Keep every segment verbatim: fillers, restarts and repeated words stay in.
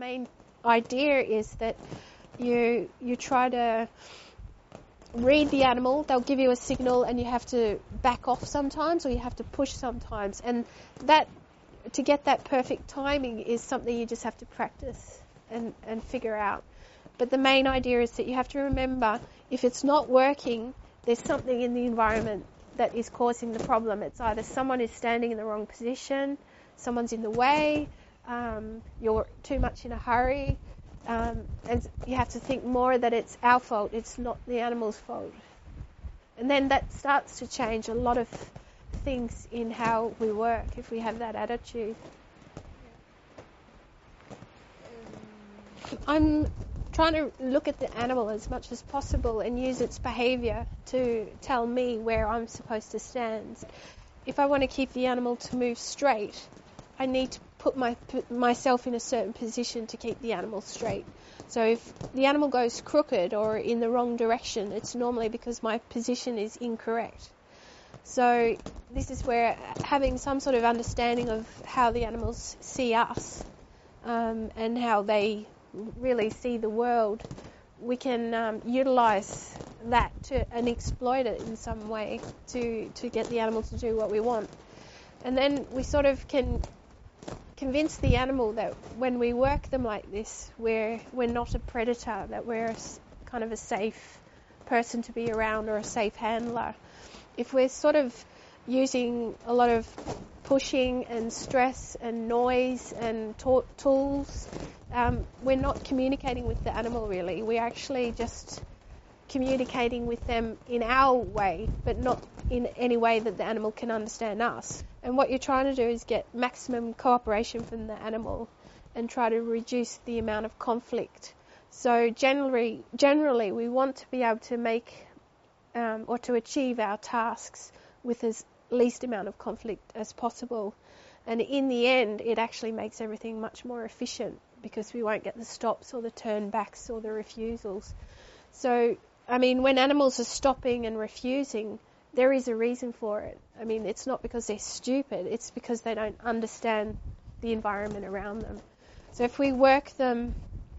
main idea is that you you try to read the animal. They'll give you a signal and you have to back off sometimes, or you have to push sometimes. And that, to get that perfect timing is something you just have to practice and, and figure out. But the main idea is that you have to remember, if it's not working, there's something in the environment that is causing the problem. It's either someone is standing in the wrong position, someone's in the way, um, you're too much in a hurry, um, and you have to think more that it's our fault, it's not the animal's fault. And then that starts to change a lot of things in how we work if we have that attitude. I'm trying to look at the animal as much as possible and use its behaviour to tell me where I'm supposed to stand. If I want to keep the animal to move straight, I need to put my put myself in a certain position to keep the animal straight. So if the animal goes crooked or in the wrong direction, it's normally because my position is incorrect. So this is where having some sort of understanding of how the animals see us um, and how they really see the world, we can um, utilise that to and exploit it in some way to, to get the animal to do what we want. And then we sort of can convince the animal that when we work them like this, we're, we're not a predator, that we're a, kind of a safe person to be around or a safe handler. If we're sort of using a lot of pushing and stress and noise and to- tools, um, we're not communicating with the animal really. We're actually just communicating with them in our way, but not in any way that the animal can understand us. And what you're trying to do is get maximum cooperation from the animal and try to reduce the amount of conflict. So generally, generally we want to be able to make um, or to achieve our tasks with as least amount of conflict as possible. And in the end, it actually makes everything much more efficient because we won't get the stops or the turn backs or the refusals. So, I mean, when animals are stopping and refusing, there is a reason for it. I mean, it's not because they're stupid, it's because they don't understand the environment around them. So if we work them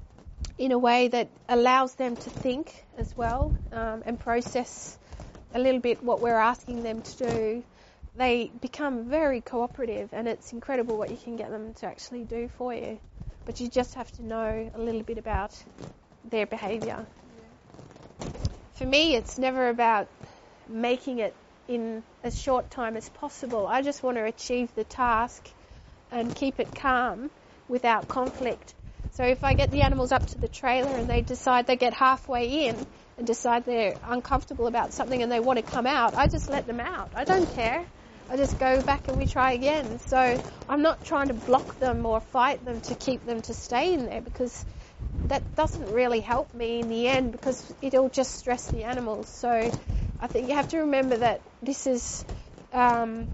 in a way that allows them to think as well um, and process a little bit what we're asking them to do, they become very cooperative, and it's incredible what you can get them to actually do for you. But you just have to know a little bit about their behaviour. Yeah. For me, it's never about making it in as short time as possible. I just want to achieve the task and keep it calm without conflict. So if I get the animals up to the trailer and they decide they get halfway in and decide they're uncomfortable about something and they want to come out, I just let them out. I don't care. I just go back and we try again. So I'm not trying to block them or fight them to keep them to stay in there, because that doesn't really help me in the end, because it'll just stress the animals. So I think you have to remember that this is, um,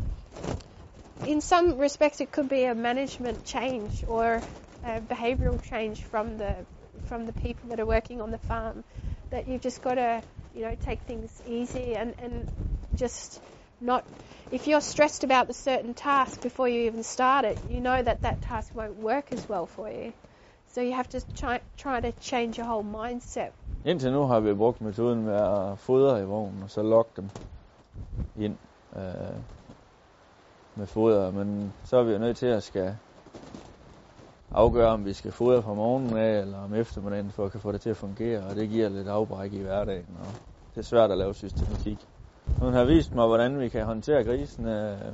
in some respects, it could be a management change or a behavioural change from the from the people that are working on the farm. That you've just got to, you know, take things easy and, and just not. If you're stressed about the certain task before you even start it, you know that that task won't work as well for you. So you have to try, try to change your whole mindset. Indtil nu har vi brugt metoden med at fodre i vognen, og så lokke dem ind øh, med foder. Men så er vi jo nødt til at skal afgøre, om vi skal fodre fra morgenen af, eller om eftermiddagen, for at kan få det til at fungere. Og det giver lidt afbræk i hverdagen, og det er svært at lave systematik. Hun har vist mig, hvordan vi kan håndtere grisene øh,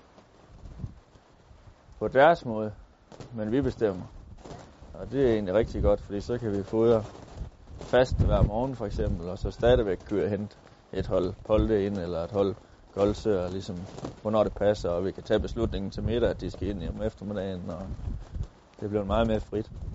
på deres måde, men vi bestemmer. Og det er egentlig rigtig godt, fordi så kan vi fodre fast hver morgen for eksempel, og så stadigvæk køre hen et hold polde ind, eller et hold goldsøer, ligesom hvornår det passer, og vi kan tage beslutningen til middag, at de skal ind om eftermiddagen, og det bliver meget mere frit.